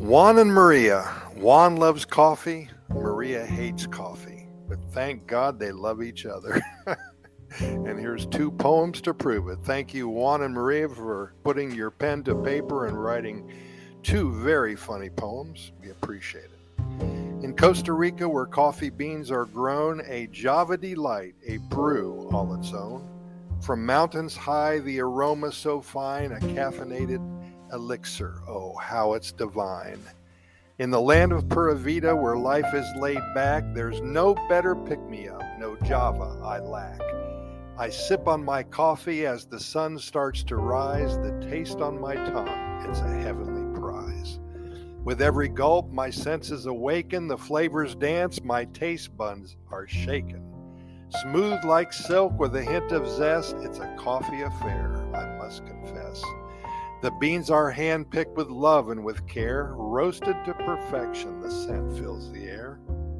Juan and Maria. Juan loves coffee. Maria hates coffee. But thank God they love each other. And here's two poems to prove it. Thank you, Juan and Maria, for putting your pen to paper and writing two very funny poems. We appreciate it. In Costa Rica, where coffee beans are grown, a Java delight, a brew all its own. From mountains high, the aroma so fine, a caffeinated elixir, oh, how it's divine. In the land of Pura Vida, where life is laid back, there's no better pick-me-up, no Java I lack. I sip on my coffee as the sun starts to rise, the taste on my tongue, it's a heavenly prize. With every gulp, my senses awaken, the flavors dance, my taste buds are shaken. Smooth like silk with a hint of zest, it's a coffee affair, I must confess. The beans are hand-picked with love and with care, roasted to perfection, the scent fills the air.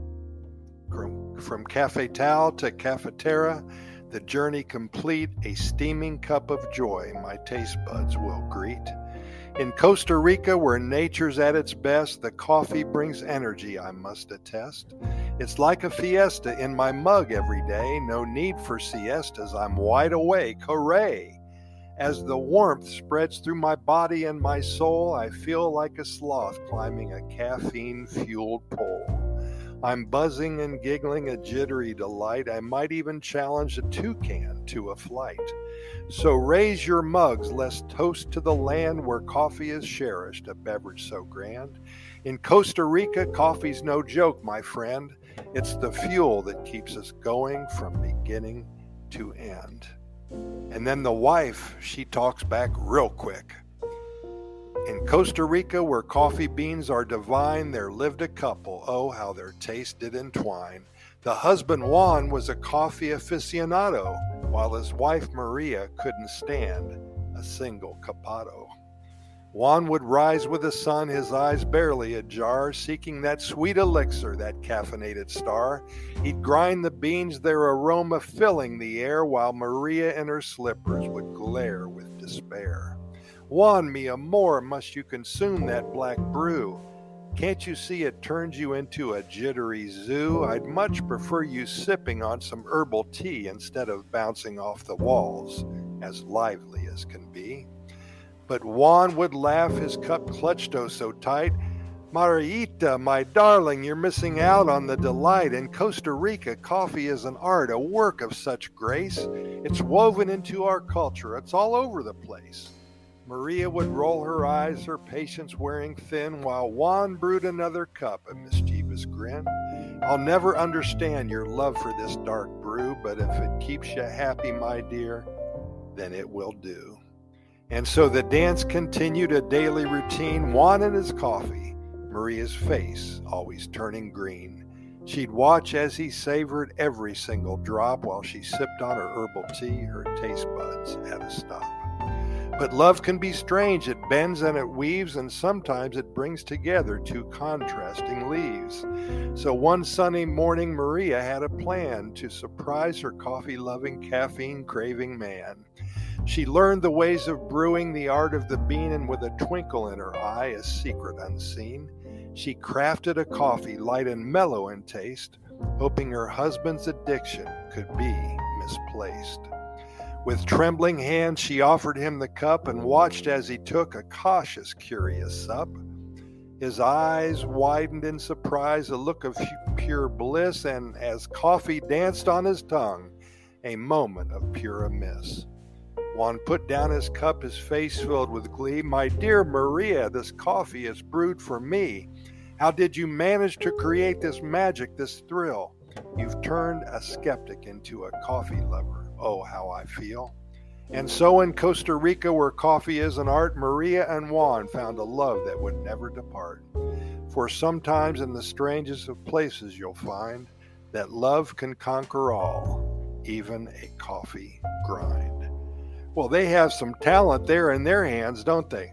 From cafetal to cafetera, the journey complete, a steaming cup of joy my taste buds will greet. In Costa Rica, where nature's at its best, the coffee brings energy, I must attest. It's like a fiesta in my mug every day, no need for siestas, I'm wide awake, hooray! As the warmth spreads through my body and my soul, I feel like a sloth climbing a caffeine-fueled pole. I'm buzzing and giggling a jittery delight. I might even challenge a toucan to a flight. So raise your mugs, let's toast to the land where coffee is cherished, a beverage so grand. In Costa Rica, coffee's no joke, my friend. It's the fuel that keeps us going from beginning to end. And then the wife, she talks back real quick. In Costa Rica, where coffee beans are divine, there lived a couple, oh, how their taste did entwine. The husband, Juan, was a coffee aficionado, while his wife, Maria, couldn't stand a single capado. Juan would rise with the sun, his eyes barely ajar, seeking that sweet elixir, that caffeinated star. He'd grind the beans, their aroma filling the air, while Maria in her slippers would glare with despair. Juan, mi amor, must you consume that black brew? Can't you see it turns you into a jittery zoo? I'd much prefer you sipping on some herbal tea instead of bouncing off the walls, as lively as can be. But Juan would laugh, his cup clutched oh so tight. Mariita, my darling, you're missing out on the delight. In Costa Rica, coffee is an art, a work of such grace. It's woven into our culture, it's all over the place. Maria would roll her eyes, her patience wearing thin, while Juan brewed another cup, a mischievous grin. I'll never understand your love for this dark brew, but if it keeps you happy, my dear, then it will do. And so the dance continued, a daily routine, Juan and his coffee, Maria's face always turning green. She'd watch as he savored every single drop while she sipped on her herbal tea, her taste buds at a stop. But love can be strange, it bends and it weaves, and sometimes it brings together two contrasting leaves. So one sunny morning, Maria had a plan to surprise her coffee-loving, caffeine-craving man. She learned the ways of brewing, the art of the bean, and with a twinkle in her eye, a secret unseen, she crafted a coffee light and mellow in taste, hoping her husband's addiction could be misplaced. With trembling hands, she offered him the cup and watched as he took a cautious, curious sup. His eyes widened in surprise, a look of pure bliss, and as coffee danced on his tongue, a moment of pure amiss. Juan put down his cup, his face filled with glee. My dear Maria, this coffee is brewed for me. How did you manage to create this magic, this thrill? You've turned a skeptic into a coffee lover. Oh, how I feel. And so in Costa Rica, where coffee is an art, Maria and Juan found a love that would never depart. For sometimes in the strangest of places you'll find that love can conquer all, even a coffee grind. Well, they have some talent there in their hands, don't they?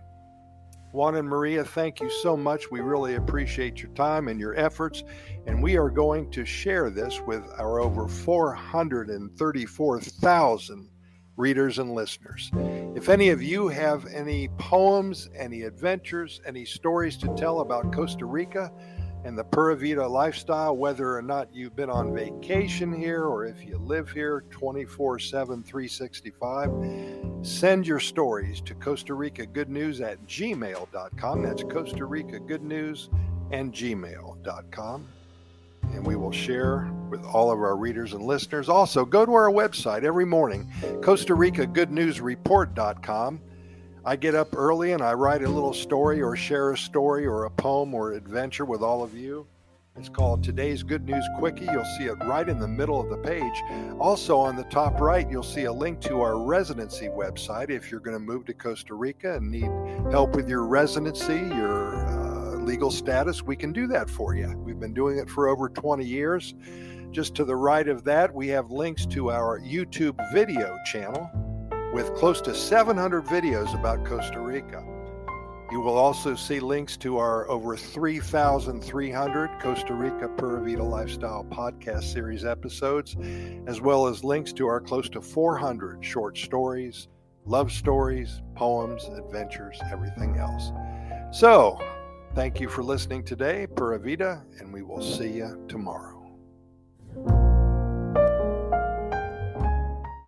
Juan and Maria, thank you so much. We really appreciate your time and your efforts, and we are going to share this with our over 434,000 readers and listeners. If any of you have any poems, any adventures, any stories to tell about Costa Rica and the Pura Vida lifestyle, whether or not you've been on vacation here or if you live here 24/7, 365, send your stories to Costa Rica Good News at gmail.com. That's Costa Rica Good News and gmail.com. And we will share with all of our readers and listeners. Also, go to our website every morning, Costa Rica Good News Report.com. I get up early and I write a little story or share a story or a poem or adventure with all of you. It's called Today's Good News Quickie. You'll see it right in the middle of the page. Also on the top right, you'll see a link to our residency website. If you're going to move to Costa Rica and need help with your residency, your legal status, we can do that for you. We've been doing it for over 20 years. Just to the right of that, we have links to our YouTube video channel with close to 700 videos about Costa Rica. You will also see links to our over 3,300 Costa Rica Pura Vida Lifestyle podcast series episodes, as well as links to our close to 400 short stories, love stories, poems, adventures, everything else. So, thank you for listening today, Pura Vida, and we will see you tomorrow.